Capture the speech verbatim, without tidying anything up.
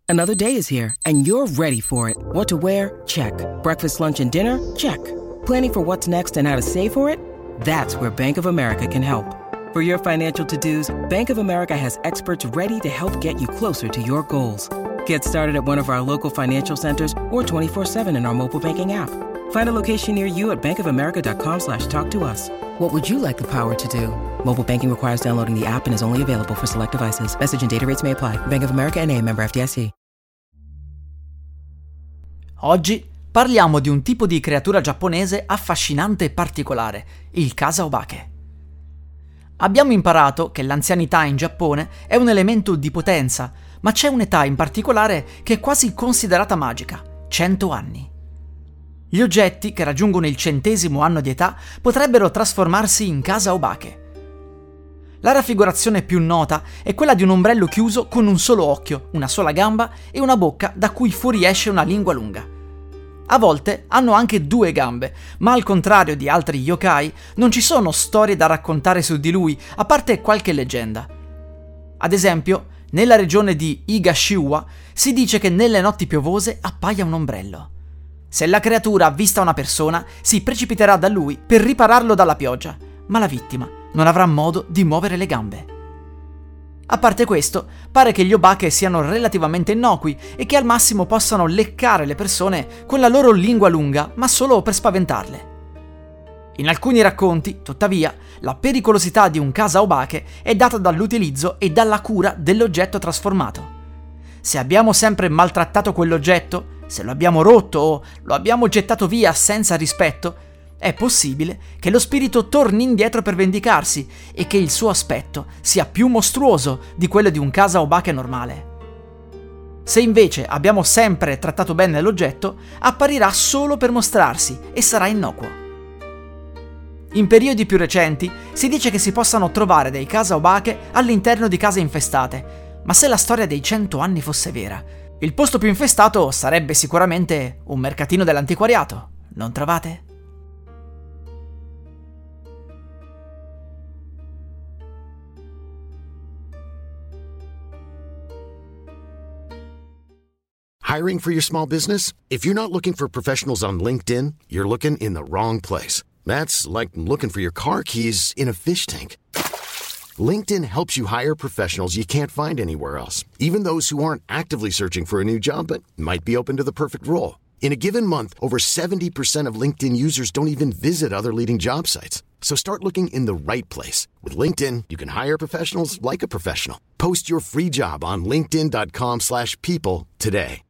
Another day is here, and you're ready for it. What to wear? Check. Breakfast, lunch, and dinner? Check. Planning for what's next and how to save for it? That's where Bank of America can help. For your financial to-dos, Bank of America has experts ready to help get you closer to your goals. Get started at one of our local financial centers or twenty-four seven in our mobile banking app. Find a location near you at bankofamerica.com slash talk to us. What would you like the power to do? Mobile banking requires downloading the app and is only available for select devices. Message and data rates may apply. Bank of America N A, member F D I C. Oggi parliamo di un tipo di creatura giapponese affascinante e particolare, il kasa-obake. Abbiamo imparato che l'anzianità in Giappone è un elemento di potenza, ma c'è un'età in particolare che è quasi considerata magica, cento anni. Gli oggetti che raggiungono il centesimo anno di età potrebbero trasformarsi in kasa-obake. La raffigurazione più nota è quella di un ombrello chiuso con un solo occhio, una sola gamba e una bocca da cui fuoriesce una lingua lunga. A volte hanno anche due gambe, ma al contrario di altri yokai non ci sono storie da raccontare su di lui, a parte qualche leggenda. Ad esempio, nella regione di Higashiwa si dice che nelle notti piovose appaia un ombrello. Se la creatura avvista una persona, si precipiterà da lui per ripararlo dalla pioggia, ma la vittima non avrà modo di muovere le gambe. A parte questo, pare che gli obake siano relativamente innocui e che al massimo possano leccare le persone con la loro lingua lunga, ma solo per spaventarle. In alcuni racconti, tuttavia, la pericolosità di un kasa-obake è data dall'utilizzo e dalla cura dell'oggetto trasformato. Se abbiamo sempre maltrattato quell'oggetto, se lo abbiamo rotto o lo abbiamo gettato via senza rispetto, è possibile che lo spirito torni indietro per vendicarsi e che il suo aspetto sia più mostruoso di quello di un kasa-obake normale. Se invece abbiamo sempre trattato bene l'oggetto, apparirà solo per mostrarsi e sarà innocuo. In periodi più recenti si dice che si possano trovare dei kasa-obake all'interno di case infestate, ma se la storia dei cento anni fosse vera, il posto più infestato sarebbe sicuramente un mercatino dell'antiquariato, non trovate? Hiring for your small business? If you're not looking for professionals on LinkedIn, you're looking in the wrong place. That's like looking for your car keys in a fish tank. LinkedIn helps you hire professionals you can't find anywhere else, even those who aren't actively searching for a new job but might be open to the perfect role. In a given month, over seventy percent of LinkedIn users don't even visit other leading job sites. So start looking in the right place. With LinkedIn, you can hire professionals like a professional. Post your free job on linkedin dot com slash people today.